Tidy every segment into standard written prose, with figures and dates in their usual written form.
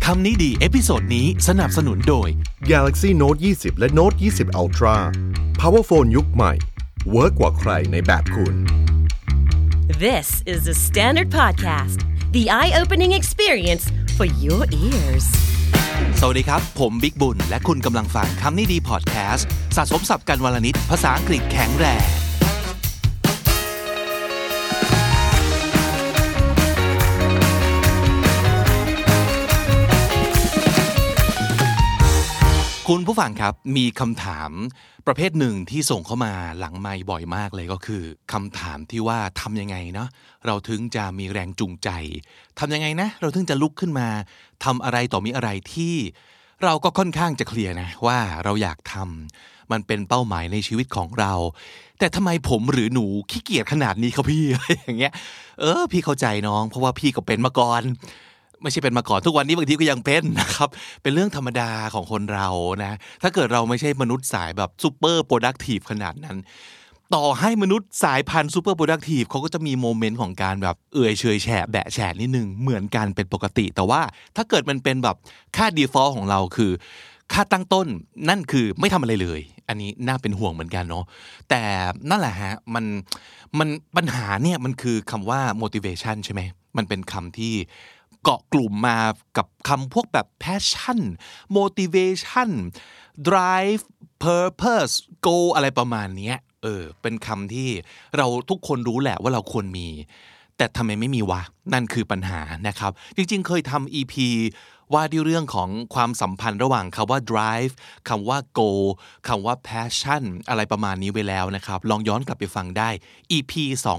คำนี้ดีเอพิโซดนี้สนับสนุนโดย Galaxy Note 20 และ Note 20 Ultra Power Phone ยุคใหม่เวิร์กกว่าใครในแบบคุณ This is the Standard Podcast, the eye-opening experience for your ears. สวัสดีครับผมบิ๊กบุญและคุณกำลังฟังคำนี้ดีพอดแคสต์สะสมศัพท์กันวลนิดภาษาอังกฤษแข็งแรงคุณผู้ฟังครับมีคำถามประเภทหนึ่งที่ส่งเข้ามาหลังไมค์บ่อยมากเลยก็คือคำถามที่ว่าทำยังไงเนาะเราถึงจะมีแรงจูงใจทำยังไงนะเราถึงจะลุกขึ้นมาทำอะไรต่อมีอะไรที่เราก็ค่อนข้างจะเคลียร์นะว่าเราอยากทำมันเป็นเป้าหมายในชีวิตของเราแต่ทำไมผมหรือหนูขี้เกียจขนาดนี้ครับพี่ อย่างเงี้ยพี่เข้าใจน้องเพราะว่าพี่ก็เป็นมาก่อนไม่ใช่เป็นมาก่อนทุกวันนี้บางทีก็ยังเป็นนะครับเป็นเรื่องธรรมดาของคนเรานะถ้าเกิดเราไม่ใช่มนุษย์สายแบบซูเปอร์โปรดักทีฟขนาดนั้นต่อให้มนุษย์สายพันธุ์ซูเปอร์โปรดักทีฟเขาก็จะมีโมเมนต์ของการแบบเฉยแฉะแบะแฉะนิดนึงเหมือนกันเป็นปกติแต่ว่าถ้าเกิดมันเป็นแบบค่า default ของเราคือค่าตั้งต้นนั่นคือไม่ทำอะไรเลยอันนี้น่าเป็นห่วงเหมือนกันเนาะแต่นั่นแหละฮะมันปัญหาเนี่ยมันคือคำว่า motivation ใช่ไหมมันเป็นคำที่เกาะกลุ่มมากับคำพวกแบบ passion motivation drive purpose goal อะไรประมาณนี้เป็นคำที่เราทุกคนรู้แหละว่าเราควรมีแต่ทำไมไม่มีวะนั่นคือปัญหานะครับจริงๆเคยทำ EP ว่าด้วยเรื่องของความสัมพันธ์ระหว่างคำว่า drive คำว่า goal คำว่า passion อะไรประมาณนี้ไว้แล้วนะครับลองย้อนกลับไปฟังได้ EP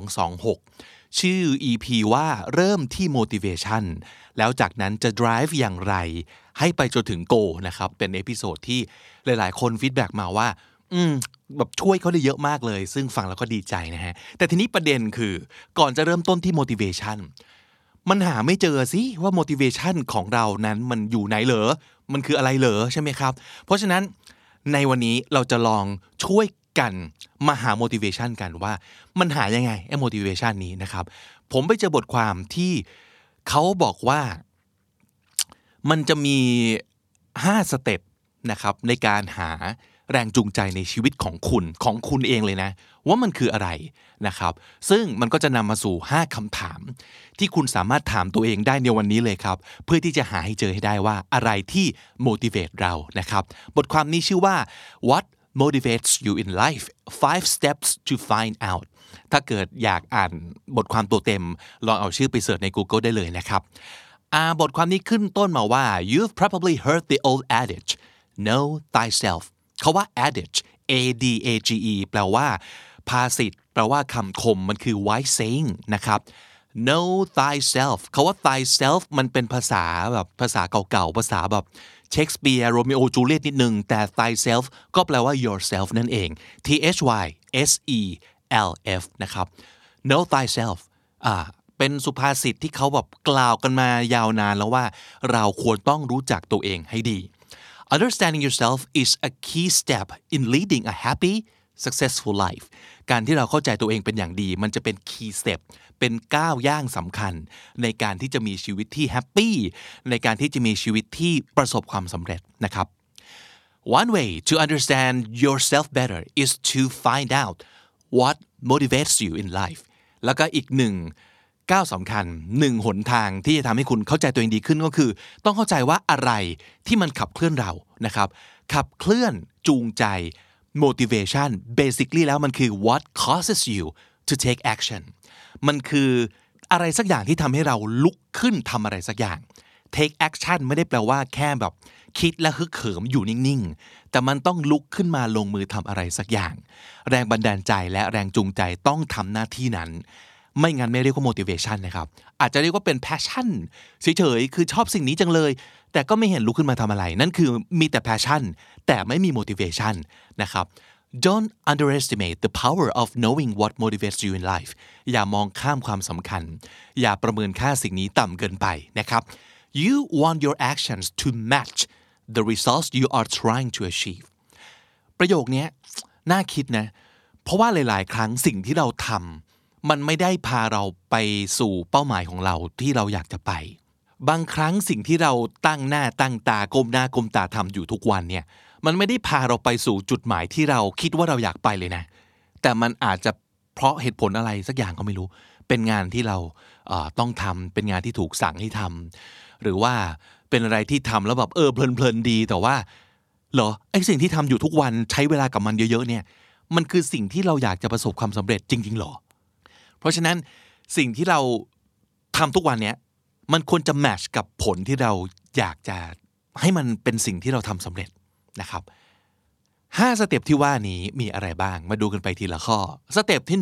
226ชื่อ EP ว่าเริ่มที่ motivation แล้วจากนั้นจะ drive อย่างไรให้ไปจนถึง goal นะครับเป็นเอพิโซดที่หลายๆคนฟีดแบ็กมาว่าแบบช่วยเขาได้เยอะมากเลยซึ่งฟังแล้วก็ดีใจนะฮะแต่ทีนี้ประเด็นคือก่อนจะเริ่มต้นที่ motivation มันหาไม่เจอสิว่า motivation ของเรานั้นมันอยู่ไหนเหรอมันคืออะไรเหรอใช่ไหมครับเพราะฉะนั้นในวันนี้เราจะลองช่วยกันมาหา motivation กันว่ามันหายังไงไอ้ motivation นี้นะครับผมไปเจอบทความที่เขาบอกว่ามันจะมี5สเต็ปนะครับในการหาแรงจูงใจในชีวิตของคุณเองเลยนะว่ามันคืออะไรนะครับซึ่งมันก็จะนำมาสู่5คำถามที่คุณสามารถถามตัวเองได้ในวันนี้เลยครับเพื่อที่จะหาให้เจอให้ได้ว่าอะไรที่ motivate เรานะครับบทความนี้ชื่อว่า What motivates you in life 5 steps to find out ถ้าเกิดอยากอ่านบทความตัวเต็มลองเอาชื่อไปเสิร์ชใน Google ได้เลยนะครับบทความนี้ขึ้นต้นมาว่า You've probably heard the old adage know thyself คำว่า adage A-D-A-G-E แปลว่าภาษิตแปลว่าคำคมมันคือ wise saying นะครับ know thyself คำว่า thyself มันเป็นภาษาแบบภาษาเก่าๆภาษาแบบเชคสเปียร์โรมิโอจูเลียตนิดนึงแต่ thyself ก็แปลว่า yourself นั่นเอง T-H-Y-S-E-L-F นะครับ know thyself เป็นสุภาษิตที่เขาแบบกล่าวกันมายาวนานแล้วว่าเราควรต้องรู้จักตัวเองให้ดี Understanding yourself is a key step in leading a happy successful life การที่เราเข้าใจตัวเองเป็นอย่างดีมันจะเป็น key step เป็นก้าวย่างสำคัญในการที่จะมีชีวิตที่แฮปปี้ในการที่จะมีชีวิตที่ประสบความสำเร็จนะครับ One way to understand yourself better is to find out what motivates you in life แล้วก็อีกหนึ่งก้าวสำคัญหนึ่งหนทางที่จะทำให้คุณเข้าใจตัวเองดีขึ้นก็คือต้องเข้าใจว่าอะไรที่มันขับเคลื่อนเรานะครับขับเคลื่อนจูงใจ motivation basically แล้วมันคือ what causes you to take action มันคืออะไรสักอย่างที่ทำให้เราลุกขึ้นทำอะไรสักอย่าง take action ไม่ได้แปลว่าแค่แบบคิดและฮึกเหิมอยู่นิ่งๆแต่มันต้องลุกขึ้นมาลงมือทำอะไรสักอย่างแรงบันดาลใจและแรงจูงใจต้องทำหน้าที่นั้นไม่งั้นไม่เรียกว่า motivation นะครับอาจจะเรียกว่าเป็น passion เฉยๆคือชอบสิ่งนี้จังเลยแต่ก็ไม่เห็นลุกขึ้นมาทำอะไรนั่นคือมีแต่ passion แต่ไม่มี motivation นะครับ Don't underestimate the power of knowing what motivates you in life อย่ามองข้ามความสำคัญอย่าประเมินค่าสิ่งนี้ต่ำเกินไปนะครับ You want your actions to match the results you are trying to achieve ประโยคนี้น่าคิดนะเพราะว่าหลายๆครั้งสิ่งที่เราทำมันไม่ได้พาเราไปสู่เป้าหมายของเราที่เราอยากจะไปบางครั้งสิ่งที่เราตั้งหน้าตั้งตาก้มหน้าก้มตาทำอยู่ทุกวันเนี่ยมันไม่ได้พาเราไปสู่จุดหมายที่เราคิดว่าเราอยากไปเลยนะแต่มันอาจจะเพราะเหตุผลอะไรสักอย่างก็ไม่รู้เป็นงานที่เราต้องทำเป็นงานที่ถูกสั่งให้ทำหรือว่าเป็นอะไรที่ทำแล้วแบบเพลินๆดีแต่ว่าเหรอไอ้สิ่งที่ทำอยู่ทุกวันใช้เวลากับมันเยอะๆเนี่ยมันคือสิ่งที่เราอยากจะประสบความสำเร็จจริงๆหรอเพราะฉะนั้นสิ่งที่เราทำทุกวันเนี้ยมันควรจะแมทช์กับผลที่เราอยากจะให้มันเป็นสิ่งที่เราทำสำเร็จนะครับ5สเต็ปที่ว่านี้มีอะไรบ้างมาดูกันไปทีละข้อสเต็ปที่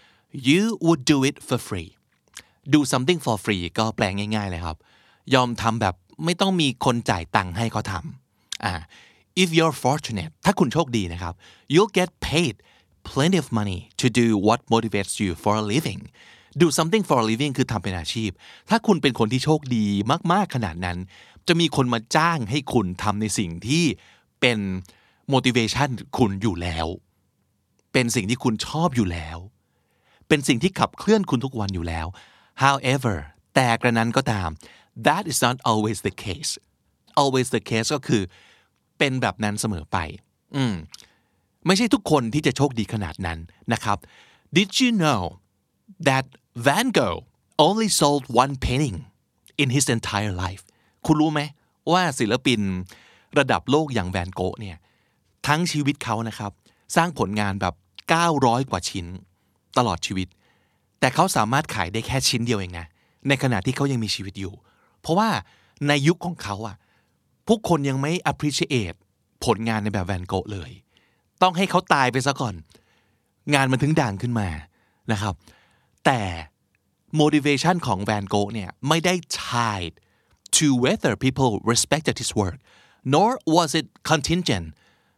1 you would do it for free do something for free ก็แปลง่ายๆเลยครับยอมทำแบบไม่ต้องมีคนจ่ายตังค์ให้เขาทำif you're fortunate ถ้าคุณโชคดีนะครับ you'll get paid plenty of money to do what motivates you for a living do something for a living คือทำเป็นอาชีพถ้าคุณเป็นคนที่โชคดีมากๆขนาดนั้นจะมีคนมาจ้างให้คุณทำในสิ่งที่เป็น motivation คุณอยู่แล้วเป็นสิ่งที่คุณชอบอยู่แล้วเป็นสิ่งที่ขับเคลื่อนคุณทุกวันอยู่แล้ว however แต่กระนั้นก็ตาม that is not always the case always the case ก็คือเป็นแบบนั้นเสมอไปไม่ใช่ทุกคนที่จะโชคดีขนาดนั้นนะครับ Did you know that Van Gogh only sold one painting in his entire life คุณรู้ไหมว่าศิลปินระดับโลกอย่างแวนโกะเนี่ยทั้งชีวิตเขานะครับสร้างผลงานแบบ900กว่าชิ้นตลอดชีวิตแต่เขาสามารถขายได้แค่ชิ้นเดียวเองนะในขณะที่เขายังมีชีวิตอยู่เพราะว่าในยุคของเขาผู้คนยังไม่ appreciate ผลงานในแบบแวนโกะเลยต้องให้เขาตายไปซะก่อนงานมันถึงด่างขึ้นมานะครับแต่ motivation ของแวนโกะเนี่ยไม่ได้ tied to whether people respected his work nor was it contingent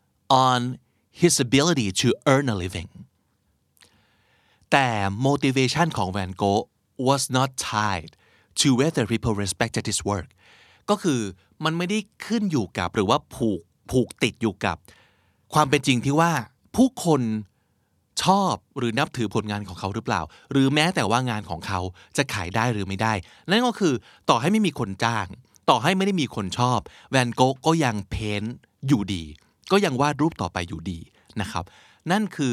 on his ability to earn a living แต่ motivation ของแวนโกะ was not tied to whether people respected his work ก็คือมันไม่ได้ขึ้นอยู่กับหรือว่าผูกติดอยู่กับความเป็นจริงที่ว่าผู้คนชอบหรือนับถือผลงานของเขาหรือเปล่าหรือแม้แต่ว่างานของเขาจะขายได้หรือไม่ได้นั่นก็คือต่อให้ไม่มีคนจ้างต่อให้ไม่ได้มีคนชอบแวนโกะก็ยังเพ้นท์อยู่ดีก็ยังวาดรูปต่อไปอยู่ดีนะครับนั่นคือ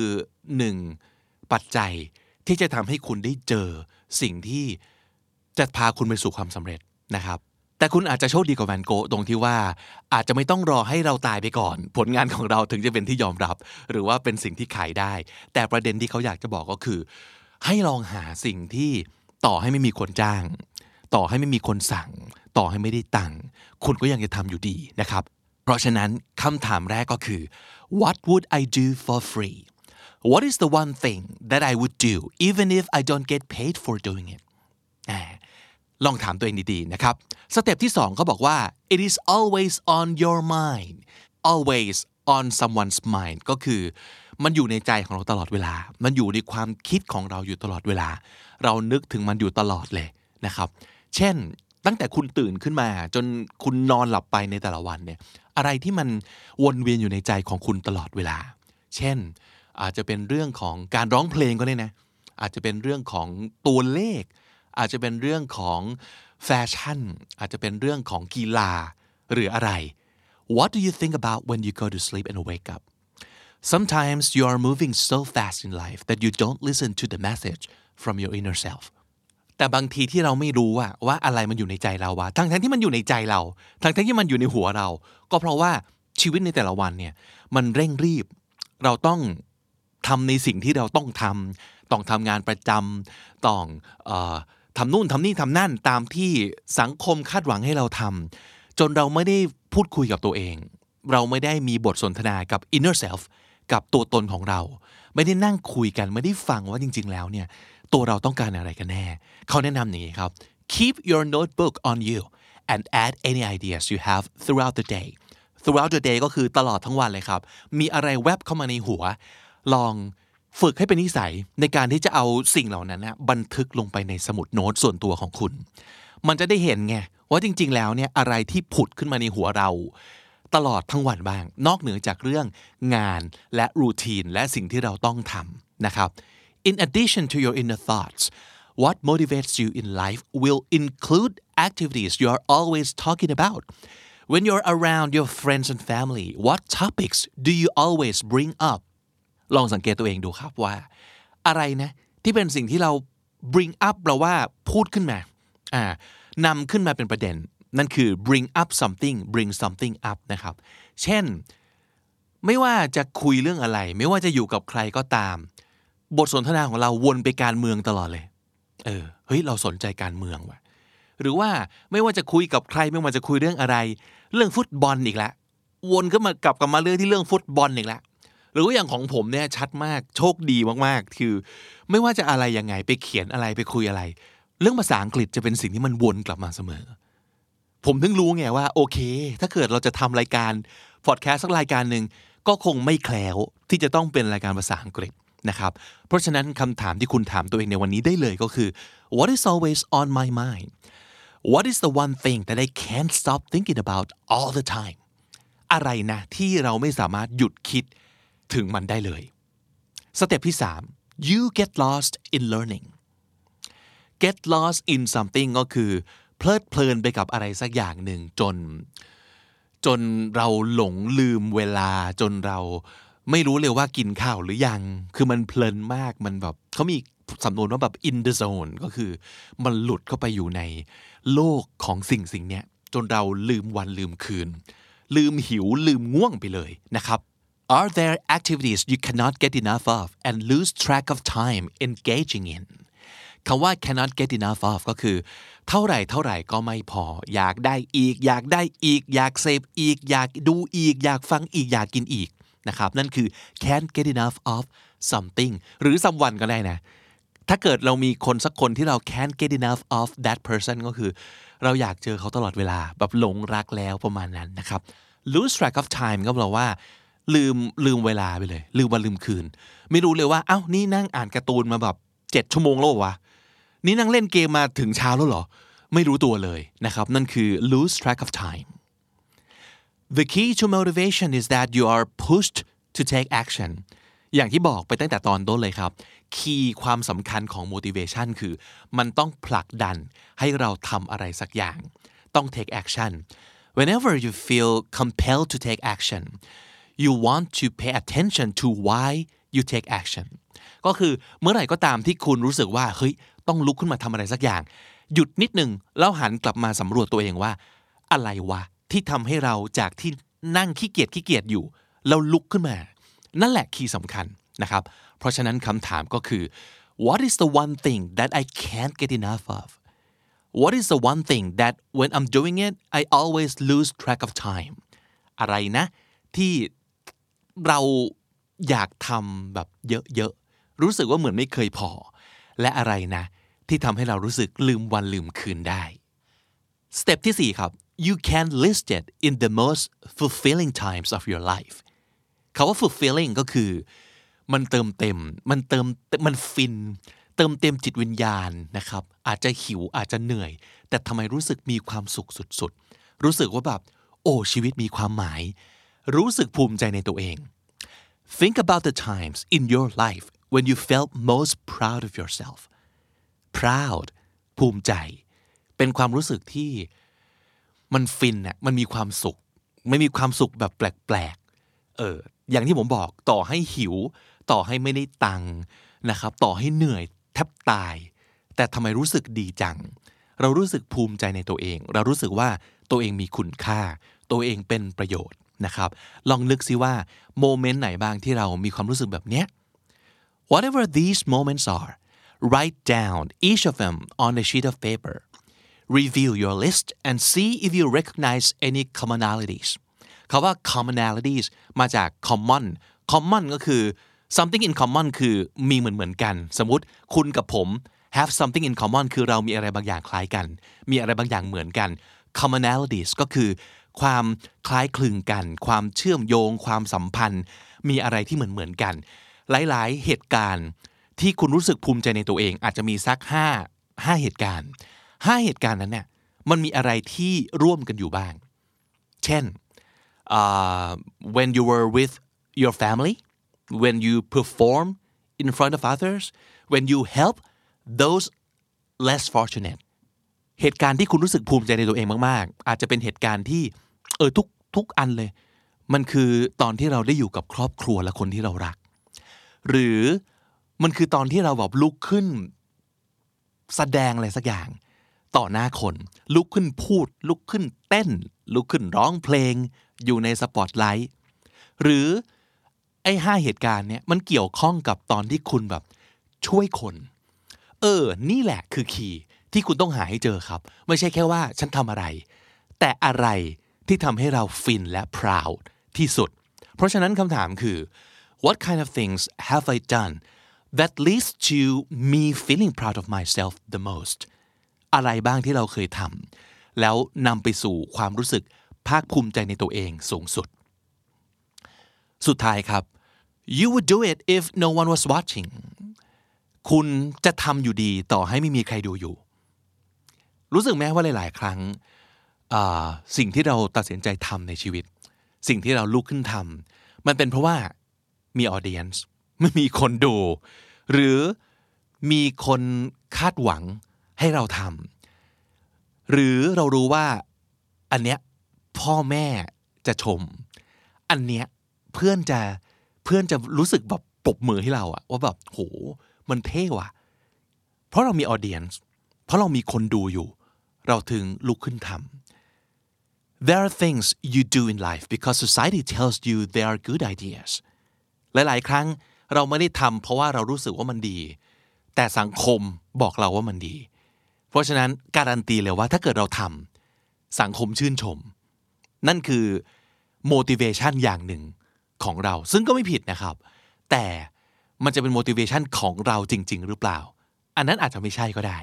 1ปัจจัยที่จะทำให้คุณได้เจอสิ่งที่จะพาคุณไปสู่ความสำเร็จนะครับแต่คุณอาจจะโชคดีกว่าแวนโกะตรงที่ว่าอาจจะไม่ต้องรอให้เราตายไปก่อนผลงานของเราถึงจะเป็นที่ยอมรับหรือว่าเป็นสิ่งที่ขายได้แต่ประเด็นที่เขาอยากจะบอกก็คือให้ลองหาสิ่งที่ต่อให้ไม่มีคนจ้างต่อให้ไม่มีคนสั่งต่อให้ไม่ได้ตังค์คุณก็ยังจะทำอยู่ดีนะครับเพราะฉะนั้นคำถามแรกก็คือ What would I do for free? What is the one thing that I would do even if I don't get paid for doing it? ลองถามตัวเองดีๆนะครับสเต็ปที่2เขาบอกว่า it is always on your mind always on someone's mind ก็คือมันอยู่ในใจของเราตลอดเวลามันอยู่ในความคิดของเราอยู่ตลอดเวลาเรานึกถึงมันอยู่ตลอดเลยนะครับเช่นตั้งแต่คุณตื่นขึ้นมาจนคุณนอนหลับไปในแต่ละวันเนี่ยอะไรที่มันวนเวียนอยู่ในใจของคุณตลอดเวลาเช่นอาจจะเป็นเรื่องของการร้องเพลงก็ได้นะอาจจะเป็นเรื่องของตัวเลขอาจจะเป็นเรื่องของแฟชั่นอาจจะเป็นเรื่องของกีฬาหรืออะไร What do you think about when you go to sleep and wake up? Sometimes you are moving so fast in life that you don't listen to the message from your inner self แต่บางทีที่เราไม่รู้ว่าอะไรมันอยู่ในใจเราทั้งที่มันอยู่ในใจเราทั้งที่มันอยู่ในหัวเราก็เพราะว่าชีวิตในแต่ละวันเนี่ยมันเร่งรีบเราต้องทำในสิ่งที่เราต้องทำงานประจำต้องทำนู่นทำนี่ทำนั่นตามที่สังคมคาดหวังให้เราทำจนเราไม่ได้พูดคุยกับตัวเองเราไม่ได้มีบทสนทนากับ inner self กับตัวตนของเราไม่ได้นั่งคุยกันไม่ได้ฟังว่าจริงๆแล้วเนี่ยตัวเราต้องการอะไรกันแน่เขาแนะนำอย่างนี้ครับ keep your notebook on you and add any ideas you have throughout the day throughout the day ก็คือตลอดทั้งวันเลยครับมีอะไรแวบเข้ามาในหัวลองฝึกให้เป็นนิสัยในการที่จะเอาสิ่งเหล่านั้นนะบันทึกลงไปในสมุดโน้ตส่วนตัวของคุณมันจะได้เห็นไงว่าจริงๆแล้วเนี่ยอะไรที่ผุดขึ้นมาในหัวเราตลอดทั้งวันบ้างนอกเหนือจากเรื่องงานและรูทีนและสิ่งที่เราต้องทำนะครับ In addition to your inner thoughts what motivates you in life will include activities you are always talking about when you're around your friends and family what topics do you always bring up ลองสังเกตตัวเองดูครับว่าอะไรนะที่เป็นสิ่งที่เรา bring up แปลว่าพูดขึ้นมานำขึ้นมาเป็นประเด็นนั่นคือ bring up something bring something up นะครับเช่นไม่ว่าจะคุยเรื่องอะไรไม่ว่าจะอยู่กับใครก็ตามบทสนทนาของเราวนไปการเมืองตลอดเลยเฮ้ยเราสนใจการเมืองว่ะหรือว่าไม่ว่าจะคุยกับใครไม่ว่าจะคุยเรื่องอะไรเรื่องฟุตบอลอีกแล้ววนก็มากลับมาเรื่องที่เรื่องฟุตบอลอีกแล้วหรือว่าอย่างของผมเนี่ยชัดมากโชคดีมากๆคือไม่ว่าจะอะไรยังไงไปเขียนอะไรไปคุยอะไรเรื่องภาษาอังกฤษจะเป็นสิ่งที่มันวนกลับมาเสมอผมถึงรู้ไงว่าโอเคถ้าเกิดเราจะทำรายการพอดแคสต์สักรายการนึงก็คงไม่แคล้วที่จะต้องเป็นรายการภาษาอังกฤษนะครับเพราะฉะนั้นคำถามที่คุณถามตัวเองในวันนี้ได้เลยก็คือ What is always on my mind What is the one thing that I can't stop thinking about all the time อะไรนะที่เราไม่สามารถหยุดคิดถึงมันได้เลยสเต็ปที่3 You get lost in learning get lost in something ก็คือเพลิดเพลินไปกับอะไรสักอย่างหนึ่งจนเราหลงลืมเวลาจนเราไม่รู้เลยว่ากินข้าวหรือยังคือมันเพลินมากมันแบบเขามีสำนวนว่าแบบ in the zone ก็คือมันหลุดเข้าไปอยู่ในโลกของสิ่งเนี้ยจนเราลืมวันลืมคืนลืมหิวลืมง่วงไปเลยนะครับ Are there activities you cannot get enough of and lose track of time engaging in คำว่า cannot get enough of ก็คือเท่าไหร่ก็ไม่พออยากได้อีกอยากได้อีกอยากเสพอีกอยากดูอีกอยากฟังอีกอยากกินอีกนะครับนั่นคือ can't get enough of something หรือ someone ก็ได้นะถ้าเกิดเรามีคนสักคนที่เรา can't get enough of that person ก็คือเราอยากเจอเขาตลอดเวลาแบบหลงรักแล้วประมาณนั้นนะครับ lose track of time ก็แปลว่าลืมเวลาไปเลยลืมวันลืมคืนไม่รู้เลยว่าเอ้านี่นั่งอ่านการ์ตูนมาแบบ7ชั่วโมงแล้ววะนี่นั่งเล่นเกมมาถึงเช้าแล้วเหรอไม่รู้ตัวเลยนะครับนั่นคือ lose track of time The key to motivation is that you are pushed to take action อย่างที่บอกไปตั้งแต่ตอนต้นเลยครับคีย์ความสำคัญของ motivation คือมันต้องผลักดันให้เราทำอะไรสักอย่างต้อง take action Whenever you feel compelled to take action you want to pay attention to why you take action ก็คือเมื่อไหร่ก็ตามที่คุณรู้สึกว่าเฮ้ยต้องลุกขึ้นมาทำอะไรสักอย่างหยุดนิดนึงแล้วหันกลับมาสำรวจตัวเองว่าอะไรวะที่ทำให้เราจากที่นั่งขี้เกียจอยู่เราลุกขึ้นมานั่นแหละคีย์สำคัญนะครับเพราะฉะนั้นคำถามก็คือ What is the one thing that I can't get enough of What is the one thing that when I'm doing it I always lose track of time อะไรนะที่เราอยากทำแบบเยอะๆรู้สึกว่าเหมือนไม่เคยพอและอะไรนะที่ทำให้เรารู้สึกลืมวันลืมคืนได้สเต็ปที่4ครับYou can list it in the most fulfilling times of your life คำว่า fulfilling ก็คือมันเติมเต็มมันฟินเติมเต็มจิตวิญญาณนะครับอาจจะหิวอาจจะเหนื่อยแต่ทำไมรู้สึกมีความสุขสุดๆรู้สึกว่าแบบโอ้ชีวิตมีความหมายรู้สึกภูมิใจในตัวเอง Think about the times in your life when you felt most proud of yourself proud ภูมิใจเป็นความรู้สึกที่มันฟินน่ะมันมีความสุขไม่มีความสุขแบบแปลกๆอย่างที่ผมบอกต่อให้หิวต่อให้ไม่ได้ตังค์นะครับต่อให้เหนื่อยแทบตายแต่ทำไมรู้สึกดีจังเรารู้สึกภูมิใจในตัวเองเรารู้สึกว่าตัวเองมีคุณค่าตัวเองเป็นประโยชน์นะครับลองนึกซิว่าโมเมนต์ไหนบ้างที่เรามีความรู้สึกแบบเนี้ย Whatever these moments are write down each of them on a sheet of paper Review your list and see if you recognize any commonalities คำว่า commonalities มาจาก common ก็คือ something in common คือมีเหมือนกันสมมุติคุณกับผม have something in common คือเรามีอะไรบางอย่างคล้ายกันมีอะไรบางอย่างเหมือนกัน commonalities ก็คือความคล้ายคลึงกันความเชื่อมโยงความสัมพันธ์มีอะไรที่เหมือนกันหลายๆเหตุการณ์ที่คุณรู้สึกภูมิใจในตัวเองอาจจะมีสัก5เหตุการณ์5เหตุการณ์นั้นเนี่ยมันมีอะไรที่ร่วมกันอยู่บ้างเช่นwhen you were with your family when you perform in front of others when you help those less fortunate เหตุการณ์ที่คุณรู้สึกภูมิใจในตัวเองมากๆอาจจะเป็นเหตุการณ์ที่ทุกอันเลยมันคือตอนที่เราได้อยู่กับครอบครัวและคนที่เรารักหรือมันคือตอนที่เราแบบลุกขึ้นแสดงอะไรสักอย่างต่อหน้าคนลุกขึ้นพูดลุกขึ้นเต้นลุกขึ้นร้องเพลงอยู่ในสปอตไลท์หรือไอ้5เหตุการณ์เนี้ยมันเกี่ยวข้องกับตอนที่คุณแบบช่วยคนนี่แหละคือคีย์ที่คุณต้องหาให้เจอครับไม่ใช่แค่ว่าฉันทำอะไรแต่อะไรที่ทำให้เราฟินและ proud ที่สุดเพราะฉะนั้นคำถามคือ What kind of things have I done that leads to me feeling proud of myself the most อะไรบ้างที่เราเคยทำแล้วนำไปสู่ความรู้สึกภาคภูมิใจในตัวเองสูงสุดสุดท้ายครับ You would do it if no one was watching คุณจะทำอยู่ดีต่อให้ไม่มีใครดูอยู่รู้สึกไหมว่าหลายๆครั้งสิ่งที่เราตัดสินใจทำในชีวิตสิ่งที่เราลุกขึ้นทำมันเป็นเพราะว่ามีออเดียนซ์ไม่มีคนดูหรือมีคนคาดหวังให้เราทำหรือเรารู้ว่าอันเนี้ยพ่อแม่จะชมอันเนี้ยเพื่อนจะรู้สึกแบบปรบมือให้เราอะว่าแบบโหมันเท่ว่ะเพราะเรามีออเดียนซ์เพราะเรามีคนดูอยู่เราถึงลุกขึ้นทำThere are things you do in life because society tells you they are good ideas หลายๆครั้งเราไม่ได้ทำเพราะว่าเรารู้สึกว่ามันดีแต่สังคมบอกเราว่ามันดีเพราะฉะนั้นการันตีเลยว่าถ้าเกิดเราทำสังคมชื่นชมนั่นคือ motivation อย่างหนึ่งของเราซึ่งก็ไม่ผิดนะครับแต่มันจะเป็น motivation ของเราจริงๆหรือเปล่าอันนั้นอาจจะไม่ใช่ก็ได้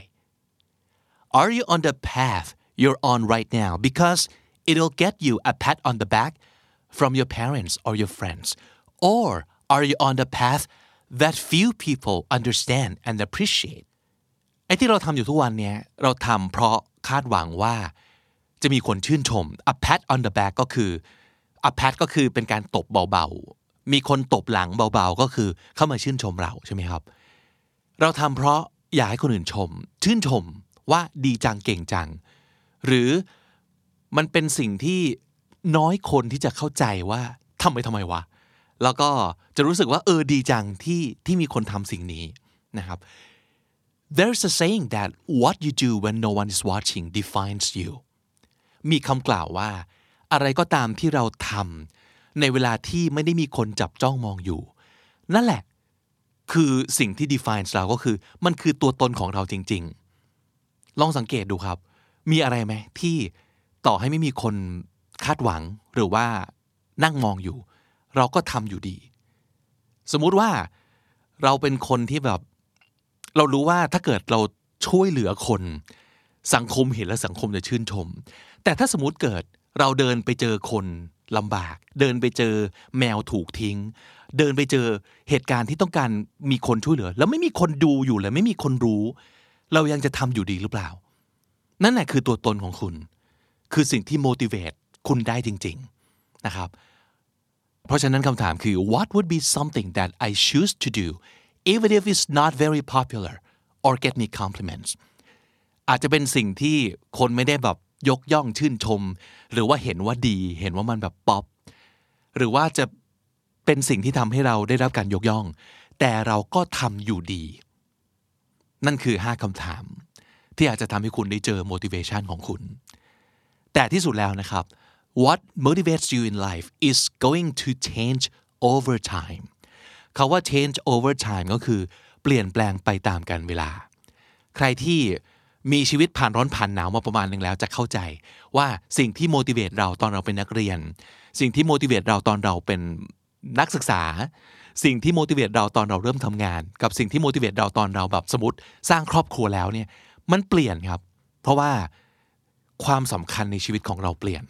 Are you on the path you're on right now because it'll get you a pat on the back from your parents or your friends or are you on the path that few people understand and appreciate ไอ้ที่เราทำอยู่ทุกวันเนี้ยเราทำเพราะคาดหวังว่าจะมีคนชื่นชม a pat on the back ก็คือ a pat ก็คือเป็นการตบเบาๆมีคนตบหลังเบาๆก็คือเข้ามาชื่นชมเราใช่ไหมครับเราทำเพราะอยากให้คนอื่นชมชื่นชมว่าดีจังเก่งจังหรือมันเป็นสิ่งที่น้อยคนที่จะเข้าใจว่าทำไมวะแล้วก็จะรู้สึกว่าดีจังที่มีคนทำสิ่งนี้นะครับ There's a saying that what you do when no one is watching defines you มีคำกล่าวว่าอะไรก็ตามที่เราทำในเวลาที่ไม่ได้มีคนจับจ้องมองอยู่นั่นแหละคือสิ่งที่ defines เราก็คือมันคือตัวตนของเราจริงๆลองสังเกตดูครับมีอะไรไหมที่ต่อให้ไม่มีคนคาดหวังหรือว่านั่งมองอยู่เราก็ทำอยู่ดีสมมุติว่าเราเป็นคนที่แบบเรารู้ว่าถ้าเกิดเราช่วยเหลือคนสังคมเห็นแล้วสังคมจะชื่นชมแต่ถ้าสมมุติเกิดเราเดินไปเจอคนลำบากเดินไปเจอแมวถูกทิ้งเดินไปเจอเหตุการณ์ที่ต้องการมีคนช่วยเหลือแล้วไม่มีคนดูอยู่เลยไม่มีคนรู้เรายังจะทำอยู่ดีหรือเปล่านั่นแหละคือตัวตนของคุณคือสิ่งที่ motivate คุณได้จริงๆนะครับเพราะฉะนั้นคำถามคือ What would be something that I choose to do even if it's not very popular or get me compliments อาจจะเป็นสิ่งที่คนไม่ได้แบบยกย่องชื่นชมหรือว่าเห็นว่าดีเห็นว่ามันแบบป๊อปหรือว่าจะเป็นสิ่งที่ทำให้เราได้รับการยกย่องแต่เราก็ทำอยู่ดีนั่นคือ5คำถามที่อาจจะทำให้คุณได้เจอ motivation ของคุณแต่ที่สุดแล้วนะครับ What motivates you in life is going to change over time คำว่า change over time ก็คือเปลี่ยนแปลงไปตามกาลเวลาใครที่มีชีวิตผ่านร้อนผ่านหนาวมาประมาณนึงแล้วจะเข้าใจว่าสิ่งที่ motivate เราตอนเราเป็นนักเรียนสิ่งที่ motivate เราตอนเราเป็นนักศึกษาสิ่งที่ motivate เราตอนเราเริ่มทำงานกับสิ่งที่ motivate เราตอนเราแบบสมมติสร้างครอบครัวแล้วเนี่ยมันเปลี่ยนครับเพราะว่าความสำคัญในชีวิตของเราเปลี่ยน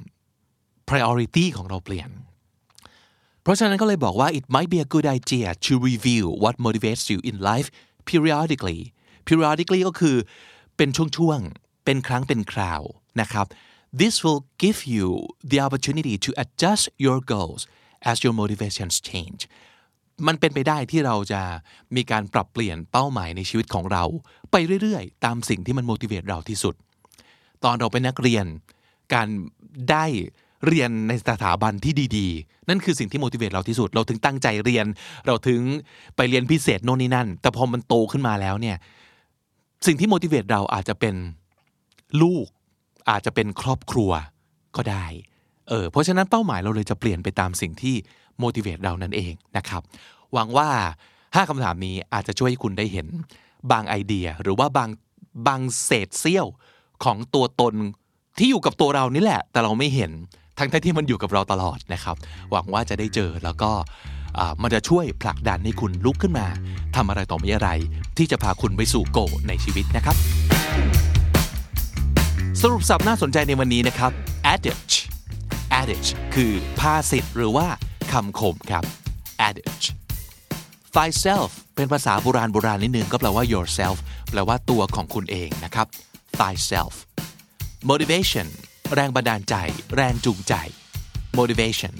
priority ของเราเปลี่ยนเพราะฉะนั้นก็เลยบอกว่า it might be a good idea to review what motivates you in life periodically ก็คือเป็นช่วงๆเป็นครั้งเป็นคราวนะครับ this will give you the opportunity to adjust your goals as your motivations change มันเป็นไปได้ที่เราจะมีการปรับเปลี่ยนเป้าหมายในชีวิตของเราไปเรื่อยๆตามสิ่งที่มัน motivate เราที่สุดตอนเราเป็นนักเรียนการได้เรียนในสถาบันที่ดีๆนั่นคือสิ่งที่ motivate เราที่สุดเราถึงตั้งใจเรียนเราถึงไปเรียนพิเศษโน่นนี่นั่นแต่พอมันโตขึ้นมาแล้วเนี่ยสิ่งที่ motivate เราอาจจะเป็นลูกอาจจะเป็นครอบครัวก็ได้เพราะฉะนั้นเป้าหมายเราเลยจะเปลี่ยนไปตามสิ่งที่ motivate เรานั่นเองนะครับหวังว่า5คำถามนี้อาจจะช่วยให้คุณได้เห็นบางไอเดียหรือว่าบางเศษเสี้ยวของตัวตนที่อยู่กับตัวเรานี่แหละแต่เราไม่เห็นทั้งที่มันอยู่กับเราตลอดนะครับหวังว่าจะได้เจอแล้วก็มันจะช่วยผลักดันให้คุณลุกขึ้นมาทำอะไรต่อมีอะไรที่จะพาคุณไปสู่โกในชีวิตนะครับสรุปศัพท์น่าสนใจในวันนี้นะครับ adage คือภาษิตหรือว่าคำคมครับ adage thyself เป็นภาษาโบราณนิดนึงก็แปลว่า yourself แปลว่าตัวของคุณเองนะครับ thyself motivation แรงบันดาลใจแรงจูงใจ motivation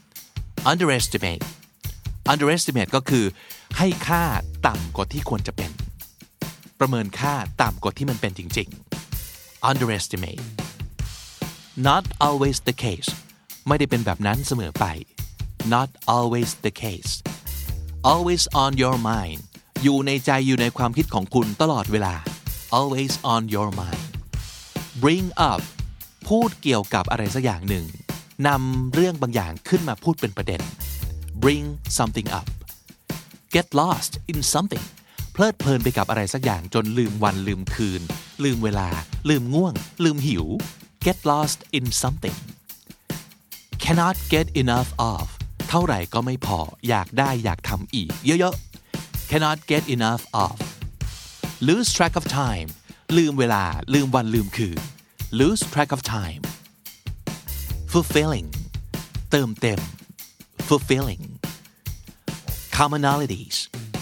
underestimate ก็คือให้ค่าต่ำกว่าที่ควรจะเป็นประเมินค่าต่ำกว่าที่มันเป็นจริงๆ underestimate not always the case ไม่ได้เป็นแบบนั้นเสมอไป not always the case always on your mind อยู่ในใจอยู่ในความคิดของคุณตลอดเวลา always on your mind bring up พูดเกี่ยวกับอะไรสักอย่างหนึ่งนำเรื่องบางอย่างขึ้นมาพูดเป็นประเด็น bring something up get lost in something เพลิดเพลินไปกับอะไรสักอย่างจนลืมวันลืมคืนลืมเวลาลืมง่วงลืมหิว get lost in something cannot get enough of เท่าไหร่ก็ไม่พออยากได้อยากทำอีกเยอะๆ cannot get enough of lose track of time ลืมเวลาลืมวันลืมคืน lose track of time fulfilling เติมเต็ม fulfilling commonalities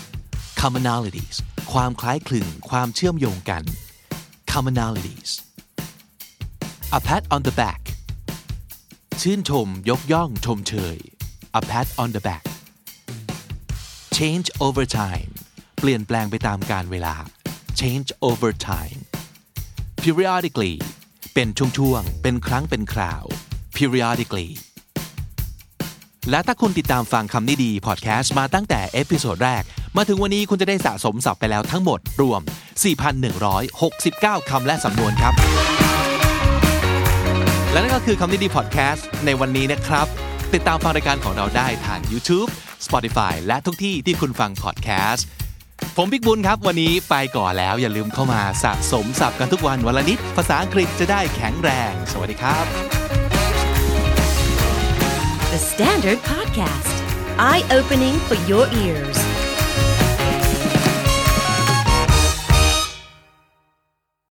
ความคล้ายคลึงความเชื่อมโยงกัน commonalities a pat on the back ชื่นชมยกย่องชมเชย a pat on the back change over time เปลี่ยนแปลงไปตามกาลเวลา change over time periodically เป็นช่วงๆเป็นครั้งเป็นคราว periodically และถ้าคุณติดตามฟังคำนี้ดีพอดแคสต์มาตั้งแต่เอพิโซดแรกมาถึงวันนี้คุณจะได้สะสมศัพท์ไปแล้วทั้งหมดรวม 4,169 คำและสำนวนครับและนั่นก็คือคำนี้ดีพอดแคสต์ในวันนี้นะครับติดตามฟังรายการของเราได้ทาง YouTube Spotify และทุกที่ที่คุณฟังพอดแคสต์ผมบิ๊กบุญครับวันนี้ไปก่อนแล้วอย่าลืมเข้ามาสะสมศัพท์กันทุกวันละนิดภาษาอังกฤษจะได้แข็งแรงสวัสดีครับ The Standard Podcast Eye-opening for your ears